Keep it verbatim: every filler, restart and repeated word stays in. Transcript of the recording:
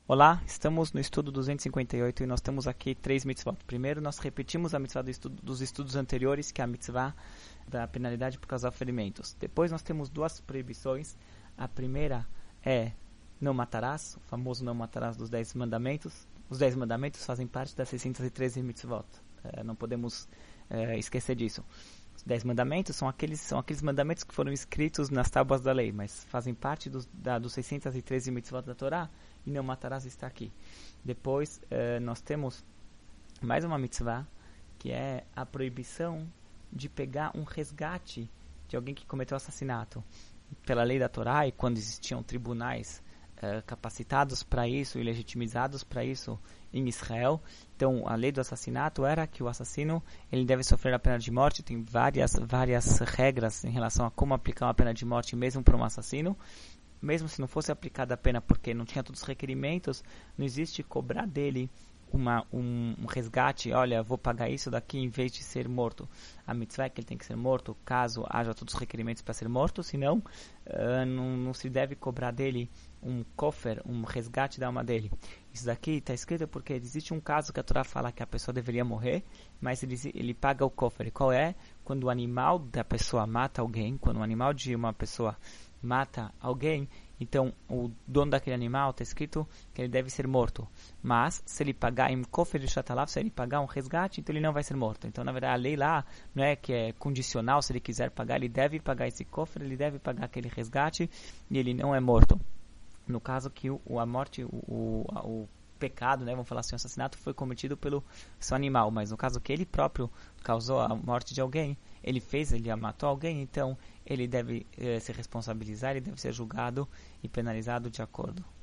Olá, estamos no estudo duzentos e cinquenta e oito e nós temos aqui três mitzvot. Primeiro, nós repetimos a mitzvah do estudo, dos estudos anteriores, que é a mitzvah da penalidade por causar ferimentos. Depois, nós temos duas proibições. A primeira é não matarás, o famoso não matarás dos dez mandamentos. Os dez mandamentos fazem parte das seiscentas e treze mitzvot. É, não podemos é, esquecer disso. Os dez mandamentos são aqueles, são aqueles mandamentos que foram escritos nas tábuas da lei, mas fazem parte dos, da, dos seiscentas e treze mitzvot da Torá, e não matarás está aqui. Depois, eh, nós temos mais uma mitzvah, que é a proibição de pegar um resgate de alguém que cometeu assassinato. Pela lei da Torá, e quando existiam tribunais eh, capacitados para isso e legitimizados para isso em Israel, então a lei do assassinato era que o assassino ele deve sofrer a pena de morte. Tem várias, várias regras em relação a como aplicar uma pena de morte mesmo para um assassino. Mesmo se não fosse aplicada a pena porque não tinha todos os requerimentos, não existe cobrar dele uma, um, um resgate. Olha, vou pagar isso daqui em vez de ser morto. A mitzvah é que ele tem que ser morto caso haja todos os requerimentos para ser morto, senão uh, não, não se deve cobrar dele um kofer, um resgate da alma dele. Isso daqui está escrito porque existe um caso que a Torá fala que a pessoa deveria morrer, mas ele, ele paga o kofer. Qual é? Quando o animal da pessoa mata alguém, quando o animal de uma pessoa mata alguém, então o dono daquele animal está escrito que ele deve ser morto. Mas se ele pagar em kofer de shatalav, se ele pagar um resgate, então ele não vai ser morto. Então, na verdade, a lei lá não é que é condicional. Se ele quiser pagar, ele deve pagar esse kofer, ele deve pagar aquele resgate e ele não é morto. No caso que o, a morte, o, o, o pecado, né, vamos falar assim, o assassinato foi cometido pelo seu animal, mas no caso que ele próprio causou a morte de alguém, ele fez, ele matou alguém, então ele deve eh, se responsabilizar, ele deve ser julgado e penalizado de acordo.